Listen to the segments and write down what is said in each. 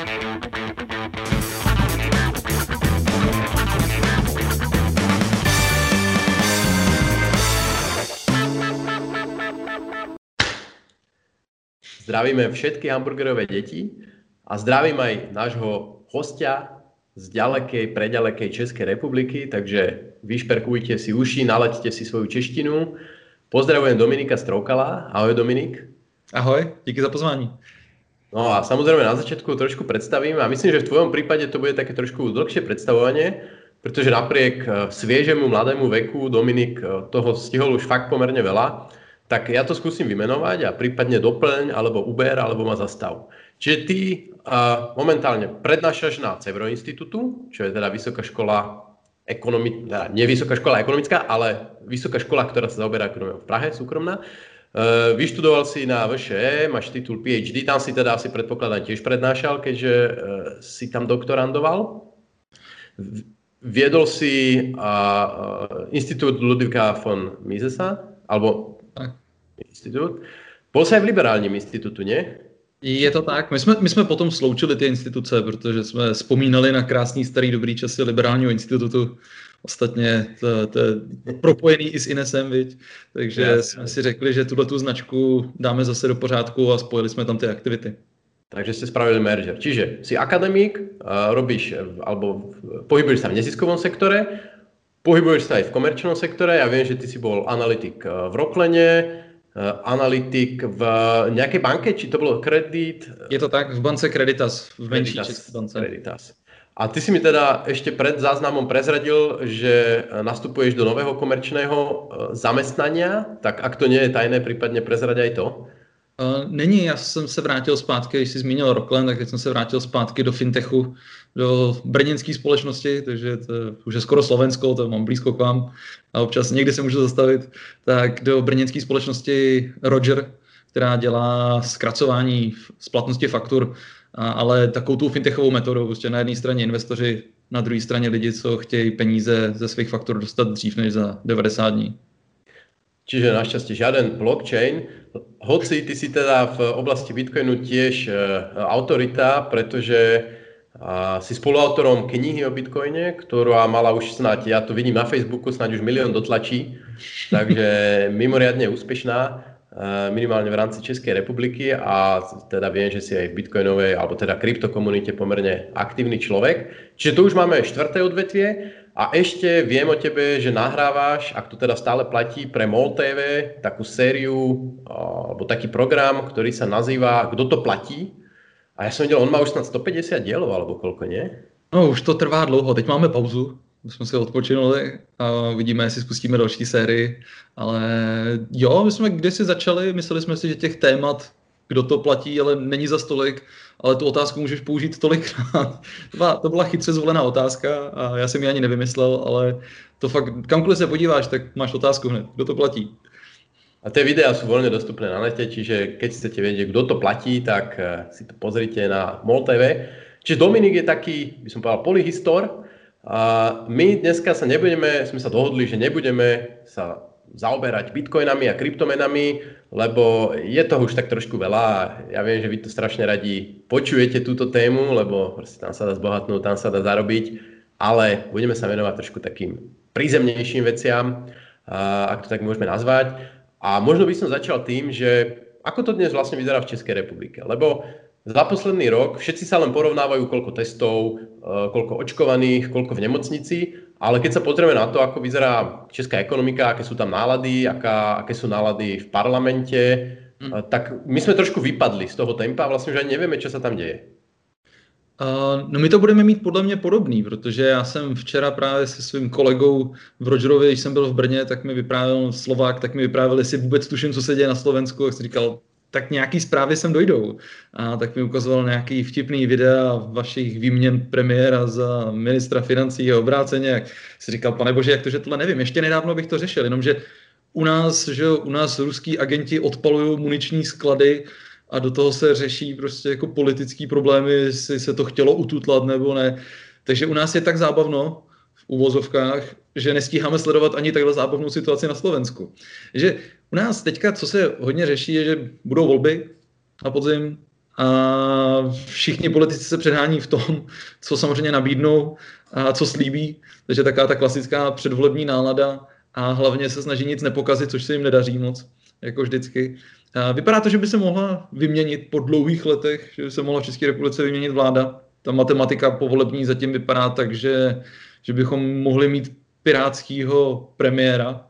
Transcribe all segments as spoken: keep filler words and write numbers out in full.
Zdravíme všetky hamburgerové deti a zdravím aj nášho hostia z ďalekej, preďalekej Českej republiky, takže vyšperkujte si uši, nalaďte si svoju češtinu. Pozdravujem Dominika Stroukala. Ahoj Dominik. Ahoj, díky za pozvání. No a samozrejme na začiatku trošku predstavím a myslím, že v tvojom prípade to bude také trošku dlhšie predstavovanie, pretože napriek sviežemu mladému veku Dominik toho stihol už fakt pomerne veľa. Tak ja to skúsim vymenovať a prípadne doplň, alebo uber, alebo ma zastav. Čiže ty uh, momentálne prednášaš na Cevro Institutu, čo je teda vysoká škola ekonomická, nie vysoká škola ekonomická, ale vysoká škola, ktorá sa zaoberá ekonomiou v Prahe, súkromná. Uh, vyštudoval si na vé š é, máš titul pé há dé, tam si teda asi predpokladám tiež prednášal, keďže uh, si tam doktorandoval. Viedol si uh, uh, Institút Ludvíka von Misesa, alebo institut. Bol sa aj v liberálním institutu, nie? Je to tak. My jsme, my jsme potom sloučili ty instituce, protože jsme vzpomínali na krásný starý dobrý časy liberálního institutu. Ostatně to, to je propojený i s Inesem, viď? Takže ja, jsme si řekli, že tuhletu značku dáme zase do pořádku a spojili jsme tam ty aktivity. Takže ste spravili merger. Čiže si akademík, robíš, alebo pohybuješ sa v neziskovom sektore, pohybuješ sa aj v komerčnom sektore. Ja viem, že ty si bol analytik v Roklene, analytik v nejakej banke, či to bolo Kredit? Je to tak, v bance Creditas, v menší české bance. Creditas. A ty si mi teda ešte pred záznamom prezradil, že nastupuješ do nového komerčného zamestnania, tak ak to nie je tajné, prípadne prezrať aj to. Uh, není, já jsem se vrátil zpátky, když jsi zmínil Roklen, tak teď jsem se vrátil zpátky do fintechu, do brněnské společnosti, takže to už je skoro Slovensko, to mám blízko k vám a občas někdy se můžu zastavit, tak do brněnské společnosti Roger, která dělá zkracování splatnosti faktur, a, ale takovou tu fintechovou metodou, prostě na jedné straně investoři, na druhé straně lidi, co chtějí peníze ze svých faktur dostat dřív než za devadesát dní. Čiže našťastie žiaden blockchain, hoci ty si teda v oblasti Bitcoinu tiež autorita, pretože si spoluautorom knihy o Bitcoine, ktorá mala už snáď, ja to vidím na Facebooku, snáď už milión dotlačí, takže mimoriadne úspešná, minimálne v rámci Českej republiky a teda viem, že si aj v bitcoinovej, alebo teda kryptokomunite pomerne aktívny človek. Čiže tu už máme štvrté odvetvie. A ešte viem o tebe, že nahrávaš, ak to teda stále platí, pre MOL té vé takú sériu alebo taký program, ktorý sa nazýva Kdo to platí. A ja som videl, on má už snad stopäťdesiat dielov, alebo koľko, nie? No, už to trvá dlouho. Teď máme pauzu, jsme si odpočinuli a vidíme, jestli spustíme další sérii. Ale jo, my jsme kdysi začali, mysleli jsme si, že těch témat, kdo to platí, ale není za tolik, ale tu otázku můžeš použít tolikrát. To byla, to byla chytře zvolená otázka a já jsem ji ani nevymyslel, ale to fakt, kamkoliv se podíváš, tak máš otázku hned, kdo to platí. A tie videá sú voľne dostupné na nete, čiže keď chcete vedieť, kto to platí, tak si to pozrite na MOL té vé. Čiže Dominik je taký, by som povedal, polyhistor. A my dneska sa nebudeme, sme sa dohodli, že nebudeme sa zaoberať bitcoinami a kryptomenami, lebo je toho už tak trošku veľa a ja viem, že vy to strašne radi počujete túto tému, lebo proste tam sa dá zbohatnúť, tam sa dá zarobiť, ale budeme sa venovať trošku takým prízemnejším veciam, ak to tak môžeme nazvať. A možno by som začal tým, že ako to dnes vlastne vyzerá v Českej republike, lebo za posledný rok všetci sa len porovnávajú, koľko testov, koľko očkovaných, koľko v nemocnici, ale keď sa pozrieme na to, ako vyzerá česká ekonomika, aké sú tam nálady, aká, aké sú nálady v parlamente, mm. tak my sme trošku vypadli z toho tempa a vlastne už ani nevieme, čo sa tam deje. Uh, no my to budeme mít podle mě podobný, protože já jsem včera právě se svým kolegou v Rogerově, když jsem byl v Brně, tak mi vyprávěl Slovák, tak mi vyprávěl, jestli vůbec tuším, co se děje na Slovensku, a jsem říkal, tak nějaký zprávy sem dojdou. A tak mi ukazoval nějaký vtipný videa vašich výměn premiéra za ministra financí a obráceně. Jak si říkal, pane bože, jak to, že tohle nevím. Ještě nedávno bych to řešil, jenomže u nás, že u nás ruský agenti odpalují muniční sklady a do toho se řeší prostě jako politický problémy, jestli se to chtělo ututlat nebo ne. Takže u nás je tak zábavno v uvozovkách, že nestíháme sledovat ani takhle zábavnou situaci na Slovensku. Že u nás teďka, co se hodně řeší, je, že budou volby na podzim a všichni politici se předhání v tom, co samozřejmě nabídnou a co slíbí, takže taková ta klasická předvolební nálada a hlavně se snaží nic nepokazit, což se jim nedaří moc, jako vždycky. A vypadá to, že by se mohla vyměnit po dlouhých letech, že by se mohla v České republice vyměnit vláda. Ta matematika povolební zatím vypadá tak, že, že bychom mohli mít pirátského premiéra,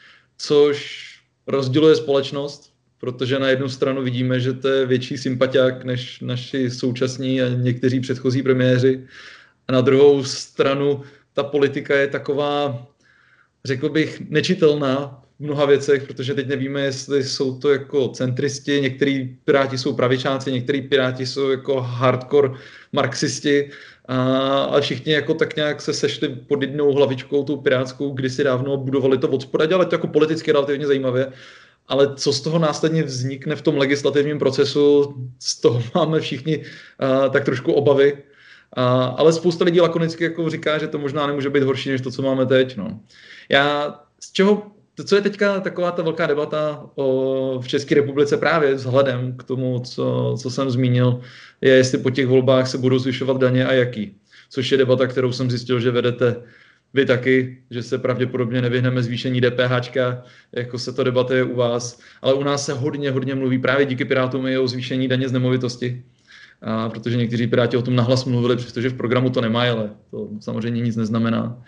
což rozděluje společnost, protože na jednu stranu vidíme, že to je větší sympatiák než naši současní a někteří předchozí premiéři. A na druhou stranu ta politika je taková, řekl bych, nečitelná v mnoha věcech, protože teď nevíme, jestli jsou to jako centristi, některý piráti jsou pravičáci, některý piráti jsou jako hardcore marxisti, a, a všichni jako tak nějak se sešli pod jednou hlavičkou, tou pirátskou, kdysi dávno budovali to od spoda, dělali to jako politicky relativně zajímavě, ale co z toho následně vznikne v tom legislativním procesu, z toho máme všichni a, tak trošku obavy. A, ale spousta lidí lakonicky jako říká, že to možná nemůže být horší, než to, co máme teď. No. Já z čeho, to, co je teďka taková ta velká debata o, v České republice právě vzhledem k tomu, co, co jsem zmínil, je, jestli po těch volbách se budou zvyšovat daně a jaký. Což je debata, kterou jsem zjistil, že vedete vy taky, že se pravděpodobně nevyhneme zvýšení DPHčka, jako se to debatuje u vás. Ale u nás se hodně, hodně mluví právě díky Pirátům i o zvýšení daně z nemovitosti. A protože někteří Piráti o tom nahlas mluvili, přestože v programu to nemají, ale to samozřejmě nic neznamená.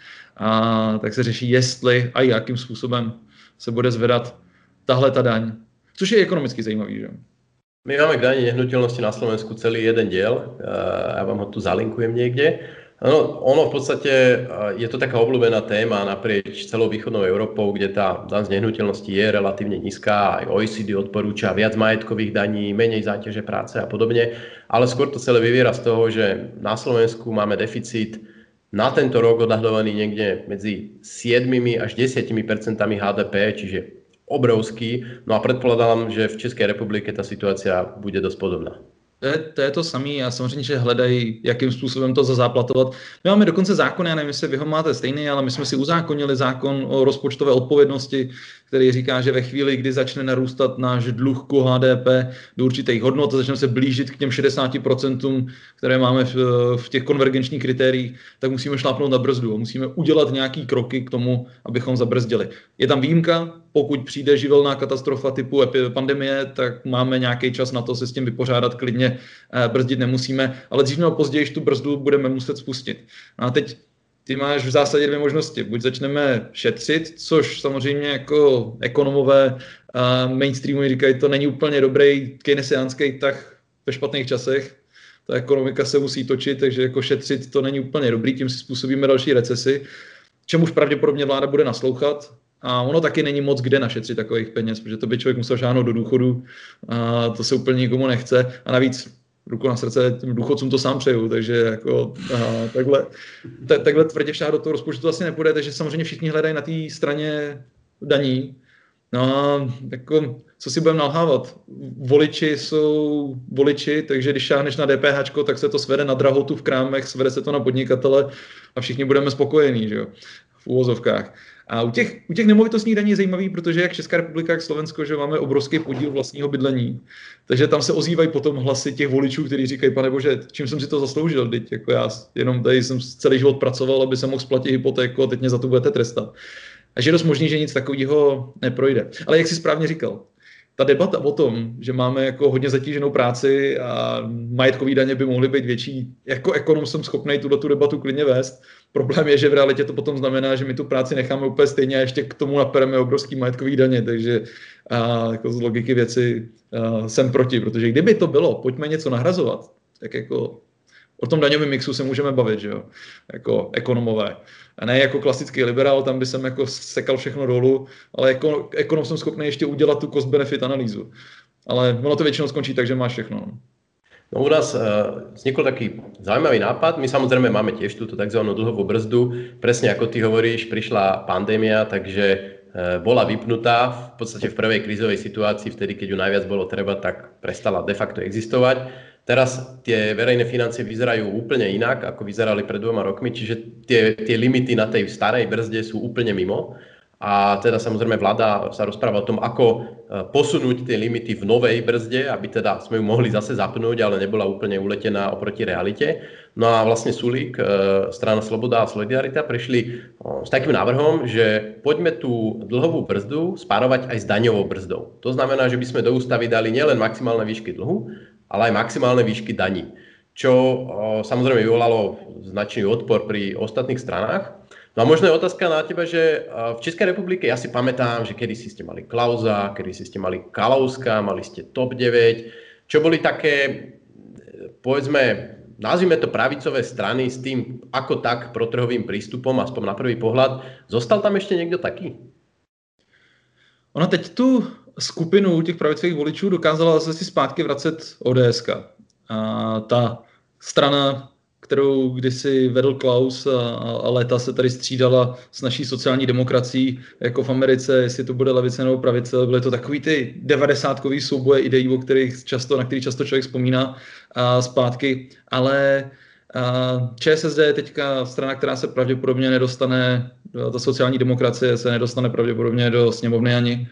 A tak se řeší, jestli a jakým způsobem se bude zvedat tahle ta daň, což je ekonomicky zajímavý, že? My máme k daní nehnuteľnosti na Slovensku celý jeden diel, ja vám ho tu zalinkujem niekde. No, ono v podstate je to taká obľúbená téma naprieč celou východnou Európou, kde tá daň z nehnuteľnosti je relatívne nízka, aj O E C D odporúča viac majetkových daní, menej záťaže práce a podobne, ale skôr to celé vyviera z toho, že na Slovensku máme deficit na tento rok odhadovaný niekde medzi sedem až desať percent há dé pé, čiže obrovský. No a predpokladám, že v České republike ta situácia bude dosť podobná. To je, to je to samé a samozřejmě, že hledají, jakým způsobem to zazáplatovat. My máme dokonce zákon, já nevím, jestli vy ho máte stejný, ale my jsme si uzákonili zákon o rozpočtové odpovědnosti, který říká, že ve chvíli, kdy začne narůstat náš dluh k há dé pé do určitých hodnot a začneme se blížit k těm šedesáti procentům, které máme v, v těch konvergenčních kritériích, tak musíme šlápnout na brzdu a musíme udělat nějaký kroky k tomu, abychom zabrzdili. Je tam výjimka, pokud přijde živelná katastrofa typu pandemie, tak máme nějaký čas na to se s tím vypořádat klidně, brzdit nemusíme, ale dřív nebo později tu brzdu budeme muset spustit. A teď ty máš v zásadě dvě možnosti. Buď začneme šetřit, což samozřejmě jako ekonomové mainstreamu říkají, to není úplně dobrý keynesiánský tah ve špatných časech. Ta ekonomika se musí točit, takže jako šetřit to není úplně dobrý, tím si způsobíme další recesi, čemuž pravděpodobně vláda bude naslouchat. A ono taky není moc kde našetřit takových peněz, protože to by člověk musel šáhnout do důchodu a to se úplně nikomu nechce. A navíc ruku na srdce, těm důchodcům to sám přeju, takže jako aha, takhle, t- takhle tvrdě však do toho rozpočtu to asi nepůjde, takže samozřejmě všichni hledají na té straně daní. No a jako, co si budeme nalhávat? Voliči jsou voliči, takže když šáhneš na DPHčko, tak se to svede na drahotu v krámech, svede se to na podnikatele a všichni budeme spokojení, že jo, v úvozovkách. A u těch, u těch nemovitostních daní je zajímavý, protože jak Česká republika, jak Slovensko, že máme obrovský podíl vlastního bydlení. Takže tam se ozývají potom hlasy těch voličů, kteří říkají, pane bože, čím jsem si to zasloužil, teď jako já jenom tady jsem celý život pracoval, aby jsem mohl splatit hypotéku a teď mě za to budete trestat. A že je dost možný, že nic takového neprojde. Ale jak jsi správně říkal, ta debata o tom, že máme jako hodně zatíženou práci a majetkové daně by mohly být větší, jako ekonom jsem schopný tuto tu debatu klidně vést. Problém je, že v realitě to potom znamená, že my tu práci necháme úplně stejně a ještě k tomu napereme obrovský majetkový daně, takže a, jako z logiky věci a, jsem proti, protože kdyby to bylo, pojďme něco nahrazovat, tak jako o tom daňovém mixu se můžeme bavit, že jo, jako ekonomové. A ne jako klasický liberál, tam by jsem jako sekal všechno dolů, ale jako ekonom jsem schopný ještě udělat tu cost-benefit analýzu. Ale ono to většinou skončí tak, že máš všechno. No u nás uh, vznikol taký zaujímavý nápad. My samozrejme máme tiež túto tzv. Dlhovú brzdu. Presne ako ty hovoríš, prišla pandémia, takže uh, bola vypnutá v podstate v prvej krízovej situácii, vtedy keď ju najviac bolo treba, tak prestala de facto existovať. Teraz tie verejné financie vyzerajú úplne inak, ako vyzerali pred dvoma rokmi, čiže tie, tie limity na tej starej brzde sú úplne mimo. A teda samozrejme vláda sa rozpráva o tom, ako posunúť tie limity v novej brzde, aby teda sme ju mohli zase zapnúť, ale nebola úplne uletená oproti realite. No a vlastne Sulík, strana Sloboda a Solidarita prišli s takým návrhom, že poďme tú dlhovú brzdu spárovať aj s daňovou brzdou. To znamená, že by sme do ústavy dali nielen maximálne výšky dlhu, ale aj maximálne výšky daní, čo samozrejme vyvolalo značný odpor pri ostatných stranách. No a možno je otázka na teba, že v Českej republike ja si pamätám, že kedysi ste mali Klausa, kedysi ste mali Kalouska, mali ste TOP deväť, čo boli také, povedzme, nazvime to pravicové strany s tým ako tak protrhovým prístupom, aspoň na prvý pohľad. Zostal tam ešte niekto taký? Ona teď tu skupinu těch pravicových voličů dokázala zase si zpátky vracet ODSka. A ta strana, kterou kdysi vedl Klaus a, a léta se tady střídala s naší sociální demokracií, jako v Americe, jestli to bude levice nebo pravice, byly to takový ty devadesátkový souboje ideí, o kterých často, na který často člověk vzpomíná a zpátky, ale a ČSSD je teďka strana, která se pravděpodobně nedostane, ta sociální demokracie se nedostane pravděpodobně do sněmovny ani.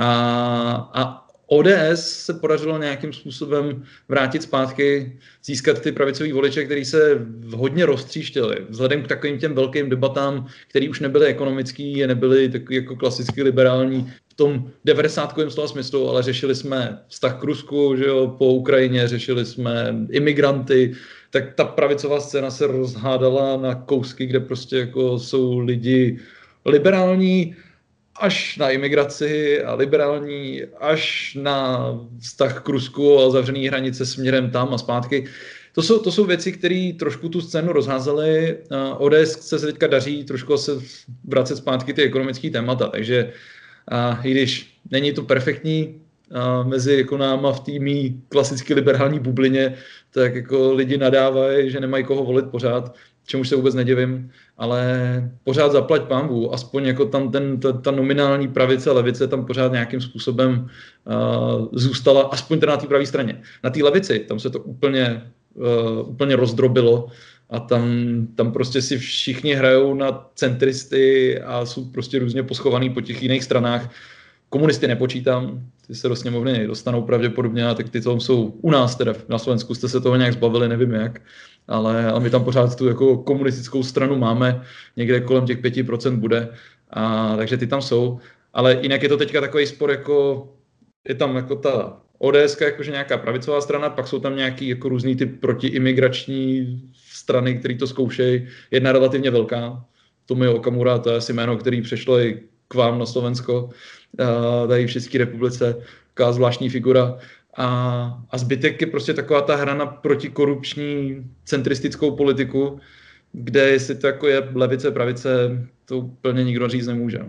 A, a O D S se podařilo nějakým způsobem vrátit zpátky, získat ty pravicový voliče, který se hodně roztříštili. Vzhledem k takovým těm velkým debatám, které už nebyly ekonomický, nebyly takový jako klasicky liberální v tom devadesátkovém slova smyslu, ale řešili jsme vztah k Rusku, že jo, po Ukrajině, řešili jsme imigranty, tak ta pravicová scéna se rozhádala na kousky, kde prostě jako jsou lidi liberální, až na imigraci a liberální, až na vztah k Rusku a zavřený hranice směrem tam a zpátky. To jsou, to jsou věci, které trošku tu scénu rozházely. O D S se teďka daří trošku se vracet zpátky ty ekonomické témata, takže a, i když není to perfektní a, mezi jako náma v týmí klasicky liberální bublině, tak jako lidi nadávají, že nemají koho volit pořád, čemuž se vůbec nedivím, ale pořád zaplať pánbů, aspoň jako tam ten, ta, ta nominální pravice a levice tam pořád nějakým způsobem uh, zůstala, aspoň teda na té pravé straně. Na té levici, tam se to úplně, uh, úplně rozdrobilo a tam, tam prostě si všichni hrajou na centristy a jsou prostě různě poschovaný po těch jiných stranách. Komunisty nepočítám, ty se do sněmovny dostanou pravděpodobně, a tak ty tam jsou u nás teda na Slovensku, jste se toho nějak zbavili, nevím jak. Ale, ale my tam pořád tu jako komunistickou stranu máme, někde kolem těch pět procent bude, a, takže ty tam jsou. Ale jinak je to teďka takový spor, jako je tam jako ta ODSka, jakože nějaká pravicová strana, pak jsou tam nějaký jako různý ty protiimigrační strany, které to zkoušejí. Jedna relativně velká, Tomio Okamura, to je asi jméno, který přešlo i k vám na Slovensko, tady v České republice, taková zvláštní figura. A, a zbytek je prostě taková ta hra na protikorupční centristickou politiku, kde jestli to jako je levice, pravice, to úplně nikdo říct nemůže.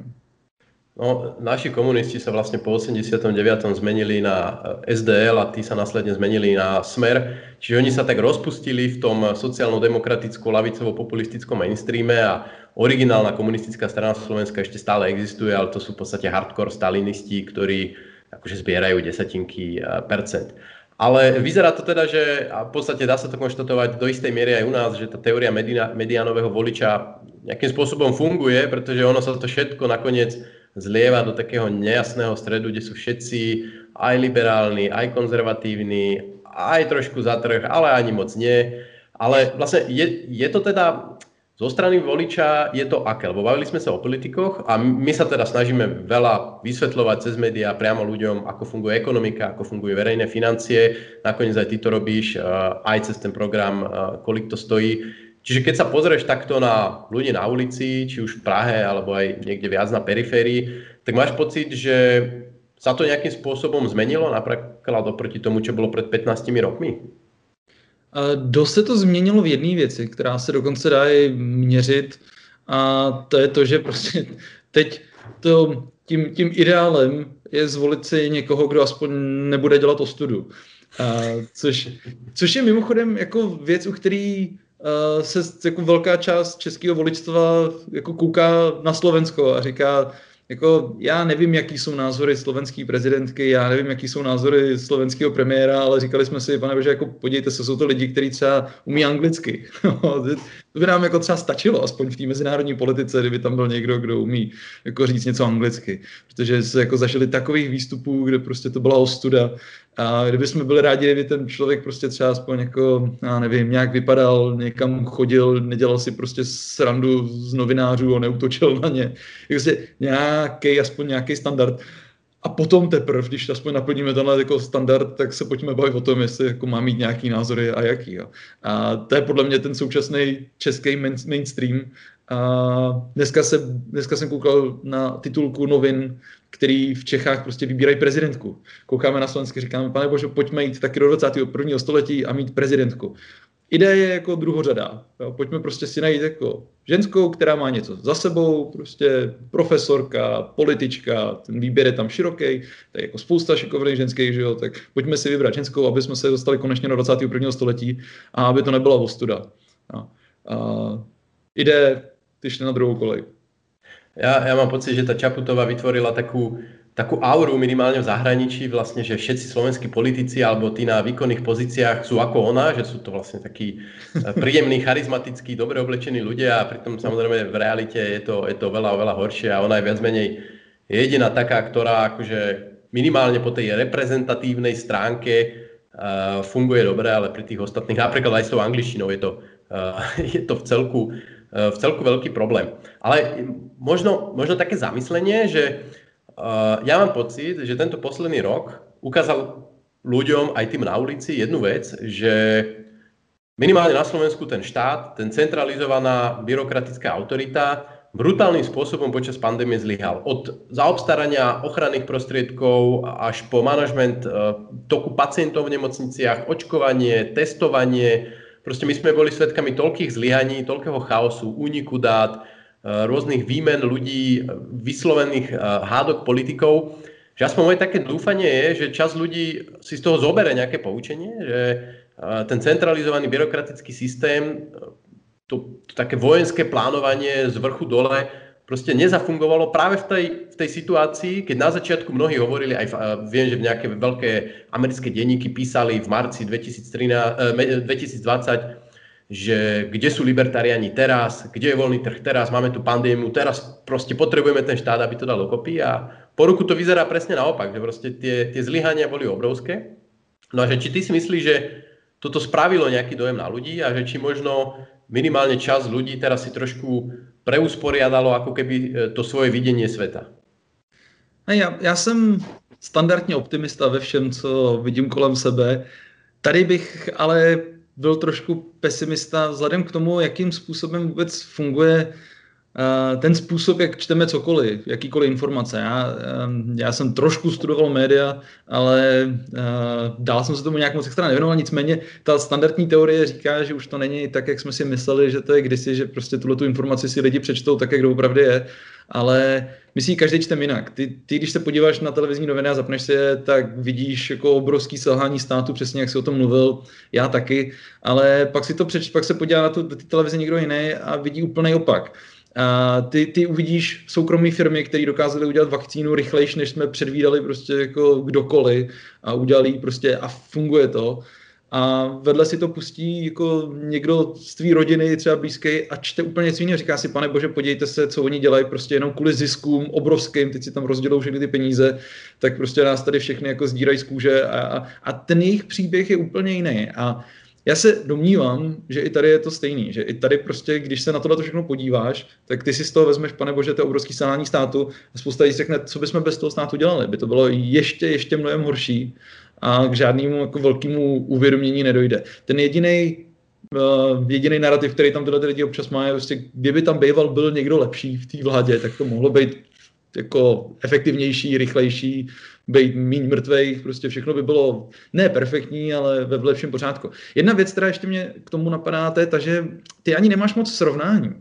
No, naši komunisti sa vlastne po osemdesiatom deviatom zmenili na es dé el a tí sa následne zmenili na Smer. Čiže oni sa tak rozpustili v tom sociálno-demokraticko-lavicovo-populistickom mainstreame a originálna komunistická strana Slovenska ešte stále existuje, ale to sú v podstate hardcore stalinisti, ktorí akože zbierajú desatinky percent. Ale vyzerá to teda, že a v podstate dá sa to konštatovať do istej miery aj u nás, že tá teória mediánového voliča nejakým spôsobom funguje, pretože ono sa to všetko nakoniec zlieva do takého nejasného stredu, kde sú všetci aj liberálni, aj konzervatívni, aj trošku za trh, ale ani moc nie. Ale vlastne je, je to teda zo strany voliča, je to aké? Lebo bavili sme sa o politikoch a my sa teda snažíme veľa vysvetľovať cez médiá priamo ľuďom, ako funguje ekonomika, ako fungujú verejné financie. Nakoniec aj ty to robíš, aj cez ten program, kolik to stojí. Čiže keď sa pozrieš takto na ľudí na ulici, či už v Prahe, alebo aj niekde viac na periférii, tak máš pocit, že sa to nejakým spôsobom zmenilo, napríklad oproti tomu, čo bolo pred pätnástimi rokmi? Dost se to změnilo v jedné věci, která se dokonce dá i měřit, a to je to, že prostě teď to, tím, tím ideálem je zvolit si někoho, kdo aspoň nebude dělat ostudu. A což, což je mimochodem jako věc, u který uh, se jako velká část českého voličstva jako kouká na Slovensko a říká, jako já nevím, jaký jsou názory slovenské prezidentky, já nevím, jaký jsou názory slovenského premiéra, ale říkali jsme si, pane bože, jako podívejte se, jsou to lidi, kteří třeba umí anglicky. To by nám jako třeba stačilo, aspoň v té mezinárodní politice, kdyby tam byl někdo, kdo umí jako říct něco anglicky. Protože se jako zažili takových výstupů, kde prostě to byla ostuda. A kdyby jsme byli rádi, kdyby ten člověk prostě třeba aspoň jako, já nevím, nějak vypadal, někam chodil, nedělal si prostě srandu z novinářů a neútočil na ně. Prostě nějaký, aspoň nějaký standard. A potom teprve, když aspoň naplníme tenhle jako standard, tak se pojďme bavit o tom, jestli jako má mít nějaký názory a jaký. Jo. A to je podle mě ten současný český mainstream. A dneska, se, dneska jsem koukal na titulku novin, který v Čechách prostě vybírají prezidentku. Koukáme na Slovensky, říkáme, pane bože, pojďme jít taky do dvacátého prvního století a mít prezidentku. Idea je jako druhořadá. Jo. Pojďme prostě si najít jako ženskou, která má něco za sebou, prostě profesorka, politička, ten výběr je tam široký, to je jako spousta šikovných ženských, že jo, tak pojďme si vybrat ženskou, aby jsme se dostali konečně do dvacátého prvního století a aby to nebyla ostuda. Jo. A ide, ty šli na druhou kolej. Ja, ja mám pocit, že tá Čaputová vytvorila takú, takú auru minimálne v zahraničí, vlastne, že všetci slovenskí politici alebo tí na výkonných pozíciách sú ako ona, že sú to vlastne takí príjemní, charizmatickí, dobre oblečení ľudia a pritom samozrejme v realite je to, je to veľa, veľa horšie a ona je viac menej jediná taká, ktorá akože minimálne po tej reprezentatívnej stránke uh, funguje dobre, ale pri tých ostatných, napríklad aj s tou angličtinou je to, uh, je to v celku v celku veľký problém. Ale možno, možno také zamyslenie, že uh, ja mám pocit, že tento posledný rok ukázal ľuďom, aj tým na ulici, jednu vec, že minimálne na Slovensku ten štát, ten centralizovaná byrokratická autorita brutálnym spôsobom počas pandémie zlyhal. Od zaobstarania ochranných prostriedkov až po manažment uh, toku pacientov v nemocniciach, očkovanie, testovanie. Proste my sme boli svedkami toľkých zlyhaní, toľkého chaosu, úniku dát, rôznych výmen ľudí, vyslovených hádok politikov, že aspoň moje také dúfanie je, že časť ľudí si z toho zoberie nejaké poučenie, že ten centralizovaný byrokratický systém, to, to také vojenské plánovanie z vrchu dole, proste nezafungovalo práve v tej, v tej situácii, keď na začiatku mnohí hovorili, aj v, viem, že v nejaké veľké americké denníky písali v marci dvetisícdvadsať, že kde sú libertariáni teraz, kde je voľný trh teraz, máme tu pandémiu, teraz proste potrebujeme ten štát, aby to dal dokopy a po roku to vyzerá presne naopak, že proste tie, tie zlyhania boli obrovské. No a že či ty si myslíš, že toto spravilo nejaký dojem na ľudí a že či možno minimálne časť ľudí teraz si trošku preusporiadalo ako keby to svoje vidění světa. Já, já jsem standardně optimista ve všem, co vidím kolem sebe. Tady bych ale byl trošku pesimista vzhledem k tomu, jakým způsobem vůbec funguje uh, ten způsob, jak čteme cokoliv, jakýkoliv informace. Já, um, já jsem trošku studoval média, ale uh, dál jsem se tomu nějak moc extra nevěnoval, nicméně ta standardní teorie říká, že už to není tak, jak jsme si mysleli, že to je kdysi, že prostě tuhletu informaci si lidi přečtou tak, jak doopravdy je, ale my si ji každý čtem jinak. Ty, ty, když se podíváš na televizní noviny a zapneš si je, tak vidíš jako obrovský selhání státu, přesně jak jsi o tom mluvil, já taky, ale pak si to přeč, pak se podívá na tu ty televizi někdo jiný a vidí úplný opak. A ty, ty uvidíš soukromé firmy, které dokázaly udělat vakcínu rychlejší, než jsme předvídali prostě jako kdokoliv a udělali prostě a funguje to. A vedle si to pustí jako někdo z tvý rodiny, třeba blízký, a čte úplně něco jiného. Říká si, pane bože, podívejte se, co oni dělají, prostě jenom kvůli ziskům obrovským, teď si tam rozdělou všechny ty peníze, tak prostě nás tady všechny jako zdírají z kůže a, a, a ten jejich příběh je úplně jiný. A já se domnívám, že i tady je to stejný, že i tady prostě, když se na tohle všechno podíváš, tak ty si z toho vezmeš, pane bože, to je obrovský selhání státu a spousta lidí řekne, co bychom bez toho státu dělali, by to bylo ještě, ještě mnohem horší a k žádnému jako velkému uvědomění nedojde. Ten jediný uh, jediný narrativ, který tam tyhle lidi občas má, je prostě, kdyby tam býval byl někdo lepší v té vládě, tak to mohlo být jako efektivnější, rychlejší, být míň mrtvejch, prostě všechno by bylo ne perfektní, ale ve lepším pořádku. Jedna věc, která ještě mě k tomu napadá, to je ta, že ty ani nemáš moc srovnání.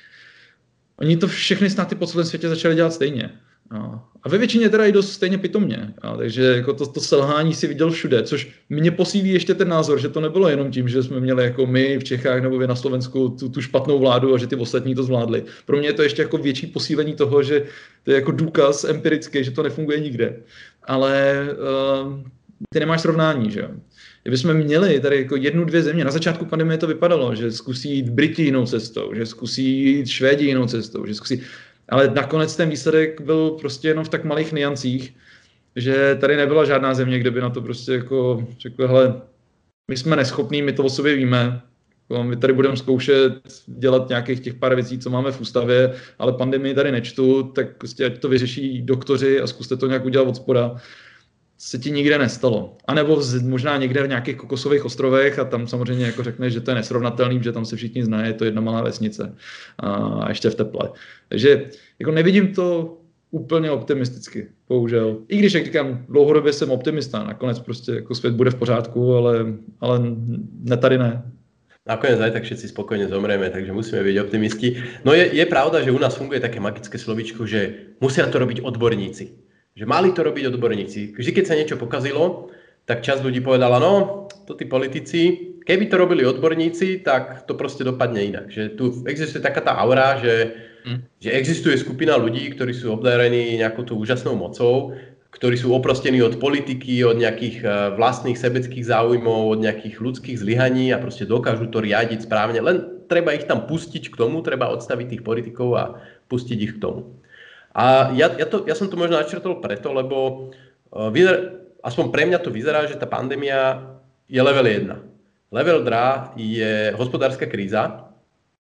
Oni to všechny státy po celém světě začali dělat stejně. No. A ve většině teda i dost stejně pitomně. No, takže jako to, to selhání si viděl všude, což mě posílí ještě ten názor, že to nebylo jenom tím, že jsme měli jako my v Čechách nebo vy na Slovensku tu, tu špatnou vládu a že ty ostatní to zvládli. Pro mě je to ještě jako větší posílení toho, že to je jako důkaz empirický, že to nefunguje nikde. Ale uh, ty nemáš srovnání, že jo. Kdybychom měli tady jako jednu, dvě země, na začátku pandemie to vypadalo, že zkusí jít Briti jinou cestou, že zkusí jít Švédi jinou cestou, že zkusí, ale nakonec ten výsledek byl prostě jenom v tak malých niancích, že tady nebyla žádná země, kde by na to prostě jako řekl, hele, my jsme neschopní, my to o sobě víme, my tady budeme zkoušet dělat nějakých těch pár věcí, co máme v ústavě, ale pandemii tady nečtu, tak prostě ať to vyřeší doktoři a zkuste to nějak udělat od spoda. Se ti nikde nestalo. A nebo možná někde v nějakých kokosových ostrovech a tam samozřejmě jako řekneš, že to je nesrovnatelný, že tam se všichni znají, je to jedna malá vesnice a ještě v teple. Takže jako nevidím to úplně optimisticky, bohužel. I když, jak říkám, dlouhodobě jsem optimista, nakonec prostě jako svět bude v pořádku, ale, ale ne tady ne. Nakoniec aj tak všetci spokojne zomrieme, takže musíme byť optimisti. No je, je pravda, že u nás funguje také magické slovíčko, že musia to robiť odborníci. Že mali to robiť odborníci. Vždy, keď sa niečo pokazilo, tak časť ľudí povedala, no, to tí politici, keby to robili odborníci, tak to proste dopadne inak. Že tu existuje taká tá aura, že, mm. že existuje skupina ľudí, ktorí sú obdarení nejakou tú úžasnou mocou, ktorí sú oprostení od politiky, od nejakých vlastných sebeckých záujmov, od nejakých ľudských zlyhaní a proste dokážu to riadiť správne. Len treba ich tam pustiť k tomu, treba odstaviť tých politikov a pustiť ich k tomu. A ja, ja, to, ja som to možno načrtol preto, lebo vyzer, aspoň pre mňa to vyzerá, že tá pandémia je level jedna. Level dva je hospodárska kríza,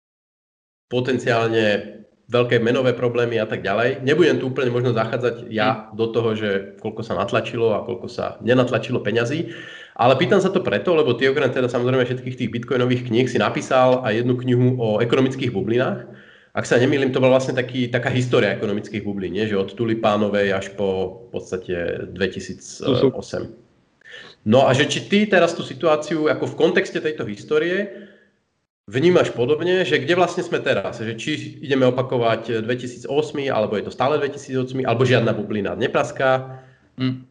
potenciálne veľké menové problémy a tak ďalej. Nebudem tu úplne možno zachádzať ja do toho, že koľko sa natlačilo a koľko sa nenatlačilo peňazí, ale pýtam sa to preto, lebo ty okrem teda samozrejme všetkých tých bitcoinových kníh si napísal aj jednu knihu o ekonomických bublinách. Ak sa nemýlim, to bola vlastne taký, taká história ekonomických bublín, nie? Že od tulipánovej až po v podstate dvetisícosem. No a že či ty teraz tú situáciu ako v kontexte tejto histórie vnímaš podobne, že kde vlastne sme teraz? Že či ideme opakovať dvetisícosem, alebo je to stále dvetisícosem, alebo žiadna bublina nepraská? Hmm.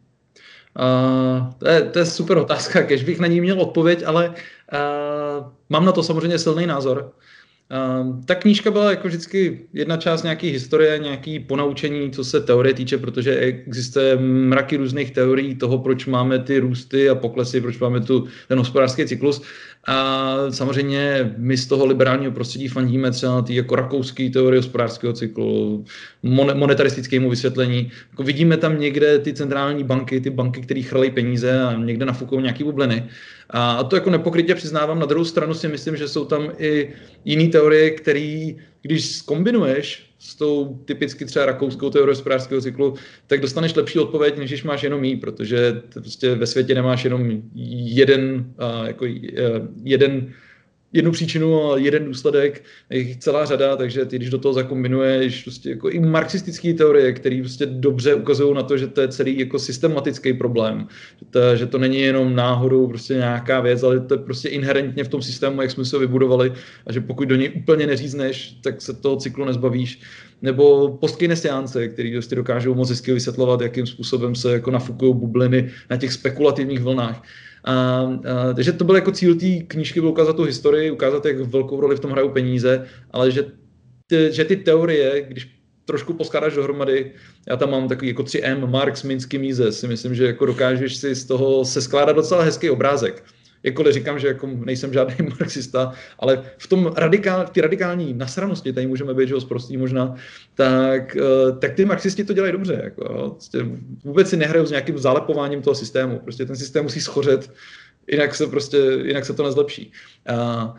Uh, to, je, to je super otázka, kež bych na ní měl odpověď, ale uh, mám na to samozřejmě silný názor. Uh, ta knížka byla jako vždycky jedna část nějaký historie, nějaký ponaučení, co se teorie týče, protože existuje mraky různých teorií toho, proč máme ty růsty a poklesy, proč máme tu, ten hospodářský cyklus. A samozřejmě my z toho liberálního prostředí fandíme třeba na ty jako rakouský teorie hospodářského cyklu, monetaristickému vysvětlení. Jako vidíme tam někde ty centrální banky, ty banky, které chrlí peníze a někde nafukují nějaký bubliny. A to jako nepokrytě přiznávám. Na druhou stranu si myslím, že jsou tam i jiné teorie, které, když zkombinuješ s tou typicky třeba rakouskou teorii hospodářského cyklu, tak dostaneš lepší odpověď, než když máš jenom jí, protože prostě ve světě nemáš jenom jeden, jako jeden, jednu příčinu a jeden důsledek, je jich celá řada, takže ty, když do toho zakombinuješ prostě jako i marxistické teorie, které prostě dobře ukazují na to, že to je celý jako systematický problém, že to, že to není jenom náhodou prostě nějaká věc, ale to je prostě inherentně v tom systému, jak jsme se ho vybudovali a že pokud do něj úplně neřízneš, tak se toho cyklu nezbavíš. Nebo postkeynesiánce, který prostě dokážou moc hezky vysvětlovat, jakým způsobem se jako nafukují bubliny na těch spekulativních vlnách. A, a, takže to byl jako cíl té knížky, byl ukázat tu historii, ukázat, jak velkou roli v tom hrajou peníze, ale že ty, že ty teorie, když trošku poskládáš dohromady, já tam mám takový jako tři M, Marx, Minsky, Mises, si myslím, že jako dokážeš si z toho se skládat docela hezký obrázek. Jakkoliv říkám, že jako nejsem žádný marxista, ale v tom radikál, v té radikální nasranosti, tady můžeme být, že ho zprostý možná, tak, tak ty marxisti to dělají dobře. Jako, vůbec si nehrajou s nějakým zalepováním toho systému. Prostě ten systém musí schořet, jinak se, prostě, jinak se to nezlepší. A,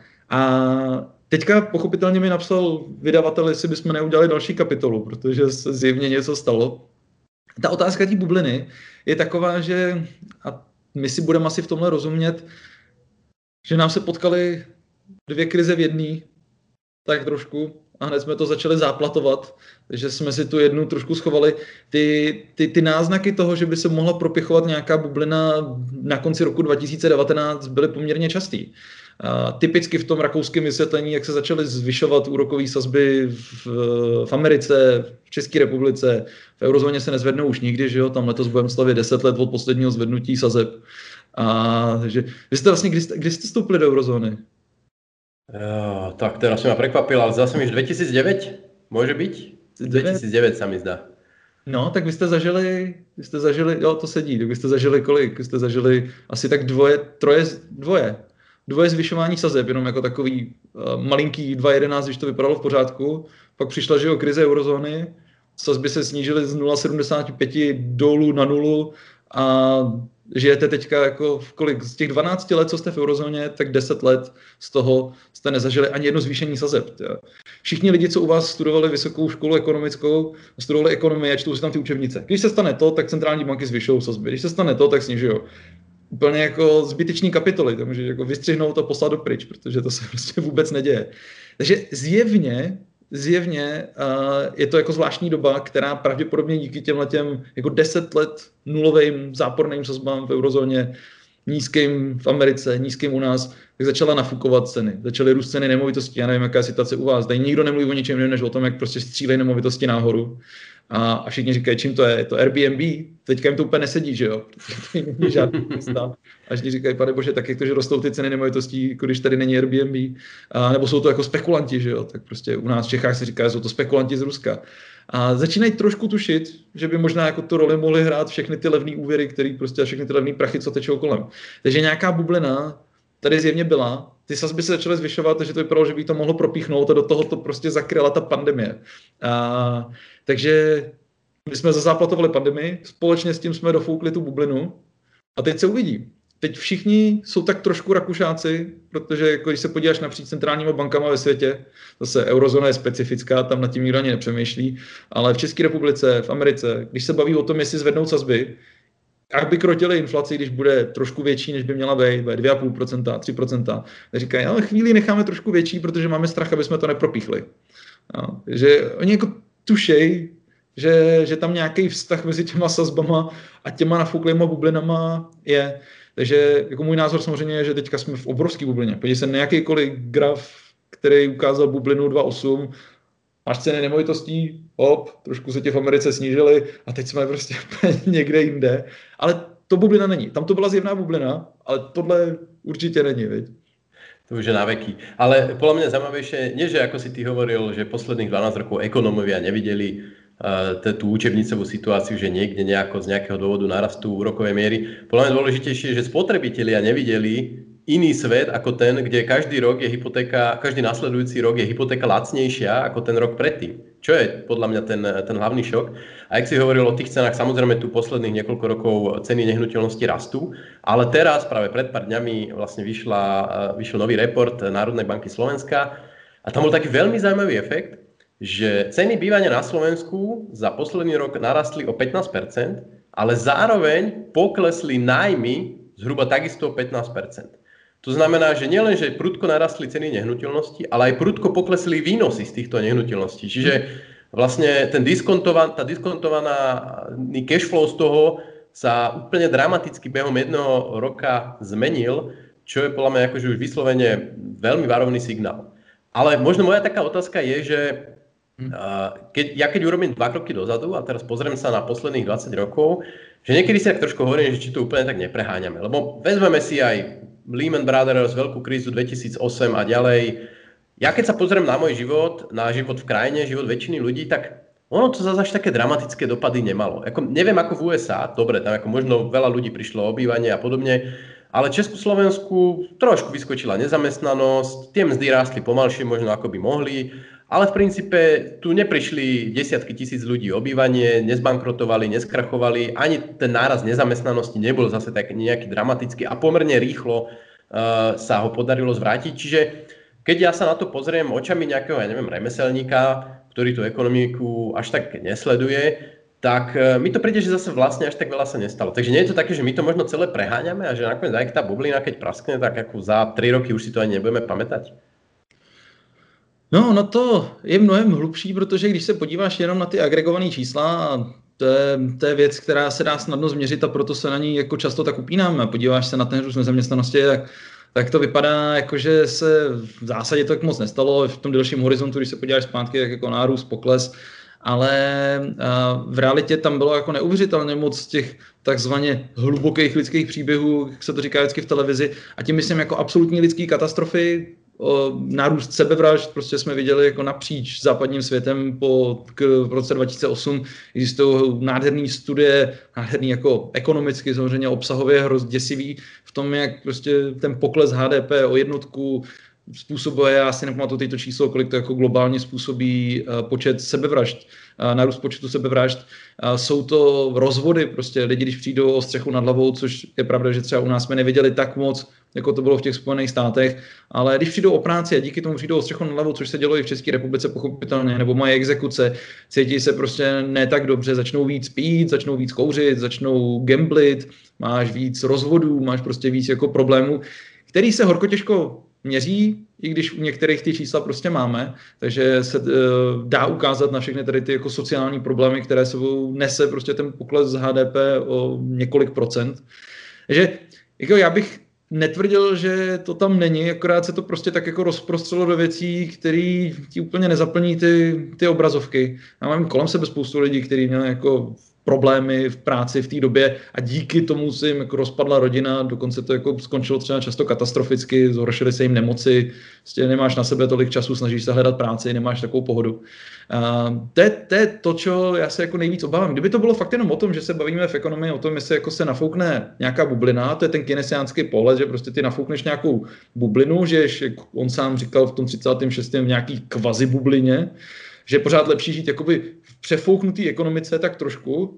a teďka pochopitelně mi napsal vydavatel, jestli bychom neudělali další kapitolu, protože se zjevně něco stalo. Ta otázka té bubliny je taková, že a my si budeme asi v tomhle rozumět, že nám se potkaly dvě krize v jedné, tak trošku, a hned jsme to začali záplatovat, takže jsme si tu jednu trošku schovali. Ty, ty, ty náznaky toho, že by se mohla propěchovat nějaká bublina na konci roku dva tisíce devatenáct, byly poměrně častý. A typicky v tom rakouském vysvětlení, jak se začaly zvyšovat úrokové sazby v, v Americe, v České republice, v eurozóně se nezvednou už nikdy, že jo, tam letos budeme slavit deset let od posledního zvednutí sazeb. A takže vy jste vlastně, kdy jste, kdy jste vstoupili do eurozóny? Jo, tak teraz si ma prekvapil, ale zase mi už dvetisícdeväť môže byť? dvetisícdeväť sa mi zdá. No, tak vy jste zažili, vy jste zažili, jo, to sedí, tak vy jste zažili kolik? Vy jste zažili asi tak dvoje, troje, dvoje. Dvoje zvyšování sazeb, jenom jako takový uh, malinký dva jedenáct, když to vypadalo v pořádku. Pak přišla, že jo, krize eurozóny, sazby se snížily z nula celá sedmdesát pět dolů na nulu a žijete teďka jako v kolik, z těch dvanácti let, co jste v eurozóně, tak deset let z toho jste nezažili ani jedno zvýšení sazeb. Tě. Všichni lidi, co u vás studovali vysokou školu ekonomickou, studovali ekonomii a čtou si tam ty učebnice. Když se stane to, tak centrální banky zvyšují sazby. Když se stane to, tak snižují. Úplně jako zbytečný kapitoly, to může jako vystřihnout a poslat do pryč, protože to se prostě vůbec neděje. Takže zjevně Zjevně uh, je to jako zvláštní doba, která pravděpodobně díky těmhletěm jako deset let nulovým záporným sazbám v eurozóně, nízkým v Americe, nízkým u nás, tak začala nafukovat ceny. Začaly růst ceny nemovitostí. Já nevím, jaká je situace u vás. Tady nikdo nemluví o ničem jiném, než o tom, jak prostě střílejí nemovitosti nahoru. A, a všichni říkají, čím to je? Je to Airbnb? Teďka jim to úplně nesedí, že jo? Protože to není žádný místa. A všichni říkají, pane bože, tak jak to, že rostou ty ceny nemovitostí, jako když tady není Airbnb? A, nebo jsou to jako spekulanti, že jo? Tak prostě u nás v Čechách se říká, že jsou to spekulanti z Ruska. A začínají trošku tušit, že by možná jako tu roli mohly hrát všechny ty levné úvěry, které prostě a všechny ty levné prachy, co tečou kolem. Takže nějaká bublina tady zjevně byla. Ty sazby se začaly zvyšovat, takže to vypadalo, že by to mohlo propíchnout a do toho to prostě zakryla ta pandemie. A, takže my jsme zazáplatovali pandemii, společně s tím jsme dofoukli tu bublinu a teď se uvidí. Teď všichni jsou tak trošku Rakušáci, protože jako když se podíváš napříč centrálníma bankama ve světě, zase eurozóna je specifická, tam nad tím nikdo ani nepřemýšlí, ale v České republice, v Americe, když se baví o tom, jestli zvednou sazby, jak by krotili inflaci, když bude trošku větší, než by měla být, bude dvě celá pět procenta, tři procenta, tak říkají, ale chvíli necháme trošku větší, protože máme strach, aby jsme to nepropíchli. No, že oni jako tušej, že, že tam nějaký vztah mezi těma sazbama a těma nafouklýma bublinama je. Takže jako můj názor samozřejmě je, že teďka jsme v obrovské bublině. Podívej se na jakýkoliv graf, který ukázal bublinu dva celá osm, máš ceny nemovitostí, hop, trošku se tě v Americe snížily a teď jsme prostě někde jinde. Ale to bublina není. Tam to byla zjevná bublina, ale tohle určitě není, viď? To už je na veky. Ale podľa mňa zaujímavejšie, nie že ako si ty hovoril, že posledných dvanásť rokov ekonómovia nevideli uh, tú učebnicovú situáciu, že niekde nejako z nejakého dôvodu narastú úrokové miery. Podľa mňa dôležitejšie je, že spotrebitelia nevideli iný svet ako ten, kde každý rok je hypotéka, každý nasledujúci rok je hypotéka lacnejšia ako ten rok predtým. Čo je podľa mňa ten, ten hlavný šok. A jak si hovoril o tých cenách, samozrejme tu posledných niekoľko rokov ceny nehnuteľnosti rastú, ale teraz práve pred pár dňami vlastne vyšla, vyšiel nový report Národnej banky Slovenska a tam bol taký veľmi zaujímavý efekt, že ceny bývania na Slovensku za posledný rok narastli o pätnásť percent, ale zároveň poklesli nájmy zhruba takisto o pätnásť percent. To znamená, že nielen, že prudko narastli ceny nehnuteľností, ale aj prudko poklesli výnosy z týchto nehnuteľností. Čiže vlastne ten diskontovaný, tá diskontovaná cash flow z toho sa úplne dramaticky behom jedného roka zmenil, čo je podľa mňa akože už vyslovene veľmi varovný signál. Ale možno moja taká otázka je, že keď, ja keď urobím dva kroky dozadu a teraz pozriem sa na posledných dvadsať rokov, že niekedy si tak trošku hovorím, že či to úplne tak nepreháňame. Lebo vezmeme si aj Lehman Brothers, veľkú krízu dvetisícosem a ďalej. Ja keď sa pozriem na môj život, na život v krajine, život väčšiny ľudí, tak ono to zase až také dramatické dopady nemalo. Ako, neviem ako v ú es á, dobre, tam ako možno veľa ľudí prišlo o obývanie a podobne, ale Česku, Slovensku trošku vyskočila nezamestnanosť, tie mzdy rástli pomalšie možno ako by mohli, ale v princípe tu neprišli desiatky tisíc ľudí o obývanie, nezbankrotovali, neskrachovali, ani ten náraz nezamestnanosti nebol zase tak nejaký dramatický a pomerne rýchlo uh, sa ho podarilo zvrátiť. Čiže keď ja sa na to pozriem očami nejakého, ja neviem, remeselníka, ktorý tú ekonomiku až tak nesleduje, tak uh, mi to príde, že zase vlastne až tak veľa sa nestalo. Takže nie je to také, že my to možno celé preháňame a že nakoniec aj tá bublina, keď praskne, tak ako za tri roky už si to ani nebudeme pamätať. No, no to je mnohem hlubší, protože když se podíváš jenom na ty agregované čísla, to je, to je věc, která se dá snadno změřit a proto se na ní jako často tak upínáme. Podíváš se na ten růst nezaměstnanosti, tak, tak to vypadá, jako že se v zásadě to tak moc nestalo. V tom delším horizontu, když se podíváš zpátky, tak jako nárůst, pokles, ale v realitě tam bylo jako neuvěřitelně moc těch takzvaně hlubokých lidských příběhů, jak se to říká vždycky v televizi, a tím myslím jako absolutní lidský katastrofy, o, nárůst sebevražd, prostě jsme viděli jako napříč západním světem po k, v roce dva tisíce osm, existují nádherné studie, nádherný jako ekonomicky, samozřejmě obsahově hrozně děsivý v tom, jak prostě ten pokles H D P o jednotku způsobuje, já si nepamatuju teď to číslo, kolik to jako globálně způsobí uh, počet sebevražd, uh, nárůst počtu sebevražd. Uh, jsou to rozvody, prostě lidi, když přijdou o střechu nad hlavou, což je pravda, že třeba u nás jsme neviděli tak moc, jako to bylo v těch Spojených státech, ale když přijdou o práci a díky tomu přijdou o střechu nad hlavou, což se dělo i v České republice pochopitelně, nebo mají exekuce, cítí se prostě ne tak dobře, začnou víc pít, začnou víc kouřit, začnou gamblit, máš víc rozvodů, máš prostě víc jako problémů, který se horko těžko měří, i když u některých ty čísla prostě máme, takže se uh, dá ukázat na všechny tady ty jako sociální problémy, které sebou nese prostě ten pokles H D P o několik procent. Takže jako já bych netvrdil, že to tam není, akorát se to prostě tak jako rozprostřelo do věcí, které ti úplně nezaplní ty, ty obrazovky. Já mám kolem sebe spoustu lidí, kteří měli jako problémy v práci v té době a díky tomu se jim jako rozpadla rodina, dokonce to jako skončilo třeba často katastroficky, zhoršily se jim nemoci, prostě nemáš na sebe tolik času, snažíš se hledat práci, nemáš takovou pohodu. Uh, to, je, to je to, čo já se jako nejvíc obávám. Kdyby to bylo fakt jenom o tom, že se bavíme v ekonomii o tom, jestli jako se nafoukne nějaká bublina, to je ten keynesiánský pohled, že prostě ty nafoukneš nějakou bublinu, že jak on sám říkal v tom třicátém šestém v nějaký kvazi bublině, že je pořád lepší žít jakoby v přefouknutý ekonomice tak trošku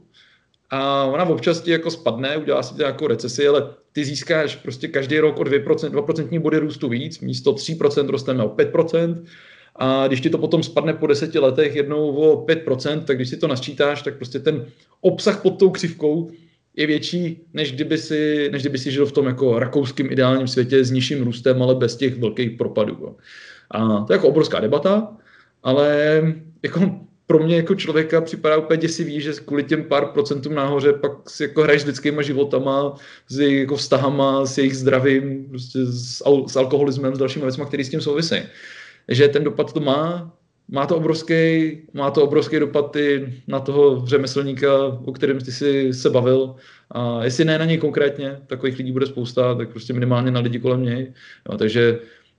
a ona občas ti jako spadne, udělá si nějakou recesi, ale ty získáš prostě každý rok o dva procentní body růstu víc, místo tři procenta rosteme o pět procent a když ti to potom spadne po deseti letech jednou o pět procent, tak když si to nasčítáš, tak prostě ten obsah pod tou křivkou je větší, než kdyby si, než kdyby si žil v tom jako rakouským ideálním světě s nižším růstem, ale bez těch velkých propadů. A to je jako obrovská debata, ale jako pro mě jako člověka připadá úplně děsivý, že kvůli těm pár procentům nahoře pak si jako hraješ s lidskýma životama, s jejich jako vztahama, s jejich zdravím, prostě s, al- s alkoholismem, s dalšími věcmi, které s tím souvisí. Že ten dopad to má, má to obrovský, má to obrovský dopad i na toho řemeslníka, o kterém ty si se bavil. A jestli ne na něj konkrétně, takových lidí bude spousta, tak prostě minimálně na lidi kolem něj. No, takže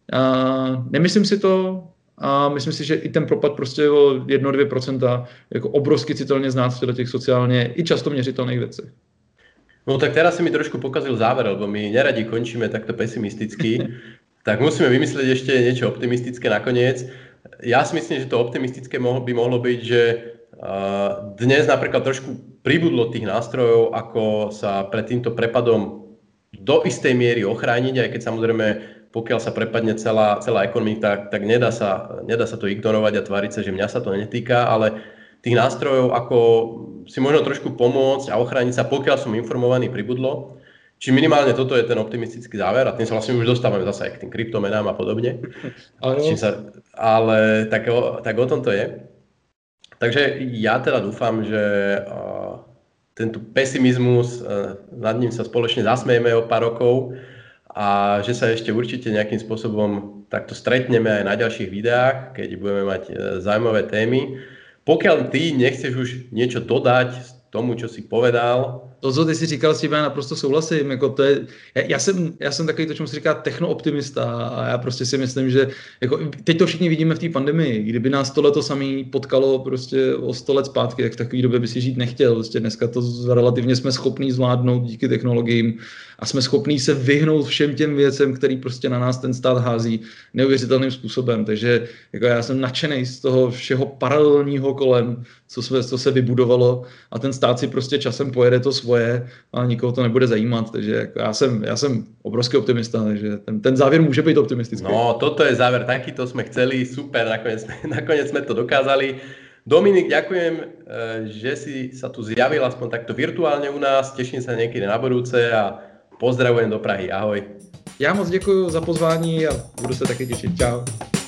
a nemyslím si to, a myslím si, že i ten propad prostě o jedna až dvě procenta jako obrovsky citelně znát v těch sociálně i často měřitelných věcech. No tak teraz si mi trošku pokazil záver, lebo my neradi končíme takto pesimisticky, tak musíme vymyslieť ešte niečo optimistické nakoniec. Ja si myslím, že to optimistické by mohlo byť, že dnes napríklad trošku pribudlo tých nástrojov, ako sa pred týmto prepadom do istej miery ochrániť, aj keď samozrejme pokiaľ sa prepadne celá, celá ekonomika, tak, tak nedá, sa, nedá sa to ignorovať a tváriť sa, že mňa sa to netýka, ale tých nástrojov, ako si možno trošku pomôcť a ochrániť sa, pokiaľ som informovaný, pribudlo. Či minimálne toto je ten optimistický záver a tým sa vlastne už dostávame zase aj k tým kryptomenám a podobne. Ale, sa, ale tak, o, tak o tom to je. Takže ja teda dúfam, že uh, tento pesimizmus, uh, nad ním sa spoločne zasmejeme o pár rokov, a že sa ešte určite nejakým spôsobom takto stretneme aj na ďalších videách, keď budeme mať zaujímavé témy. Pokiaľ ty nechceš už niečo dodať tomu, čo si povedal. To, co ty si říkal, s tím já naprosto souhlasím. Jako to je, já, já, jsem, já jsem takový to, čemu se říká technooptimista a já prostě si myslím, že jako, teď to všichni vidíme v té pandemii. Kdyby nás tohle to samé potkalo prostě o sto let zpátky, tak v takové době by si žít nechtěl. Prostě dneska to relativně jsme schopní zvládnout díky technologiím a jsme schopní se vyhnout všem těm věcem, který prostě na nás ten stát hází neuvěřitelným způsobem. Takže jako já jsem nadšený z toho všeho paralelního kolem, co se, co se vybudovalo a ten stát si prostě časem pojede to svoje a nikoho to nebude zajímat, takže jako já jsem, já jsem obrovský optimista, takže ten, ten závěr může být optimistický. No, toto je záver, takýto sme chceli, super, nakoniec, nakoniec sme to dokázali. Dominik, ďakujem, že si sa tu zjavil aspoň takto virtuálne u nás, teším sa niekedy na budúce a pozdravujem do Prahy, ahoj. Já moc děkuji za pozvání a budu se taky těšit, čau.